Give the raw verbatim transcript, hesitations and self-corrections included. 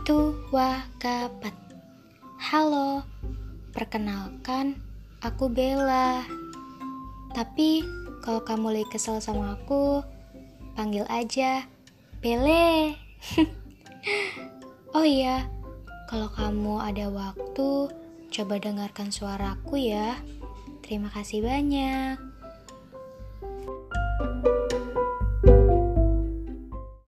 Tua Kapat. Halo, perkenalkan, aku Bella. Tapi kalau kamu lagi kesel sama aku, panggil aja Bele. Oh iya, kalau kamu ada waktu, coba dengarkan suaraku ya. Terima kasih banyak.